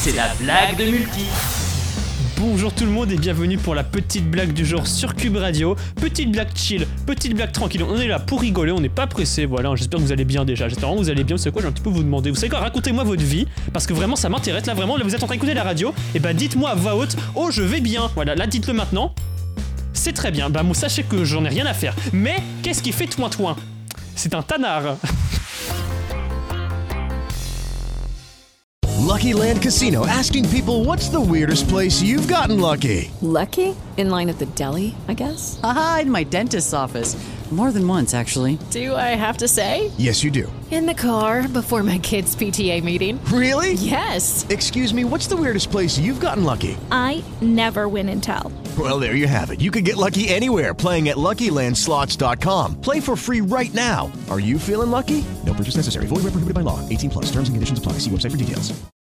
c'est la blague de Multi. Bonjour tout le monde et bienvenue pour la petite blague du jour sur Cube Radio. Petite blague chill, petite blague tranquille, on est là pour rigoler, on n'est pas pressé, voilà, j'espère que vous allez bien déjà, j'espère que vous allez bien, vous savez quoi, j'ai un petit peu vous demander, vous savez quoi, racontez-moi votre vie, parce que vraiment ça m'intéresse, là vraiment, là vous êtes en train d'écouter la radio, et bah dites-moi à voix haute, oh je vais bien, voilà, là dites-le maintenant, c'est très bien, bah moi sachez que j'en ai rien à faire, mais qu'est-ce qui fait toin-toin? C'est un tanard. Lucky Land Casino, asking people, what's the weirdest place you've gotten lucky? Lucky? In line at the deli, I guess? Aha, in my dentist's office. More than once, actually. Do I have to say? Yes, you do. In the car before my kids' PTA meeting. Really? Yes. Excuse me, what's the weirdest place you've gotten lucky? I never win and tell. Well, there you have it. You can get lucky anywhere, playing at LuckyLandSlots.com. Play for free right now. Are you feeling lucky? No purchase necessary. Void where prohibited by law. 18+. Terms and conditions apply. See website for details.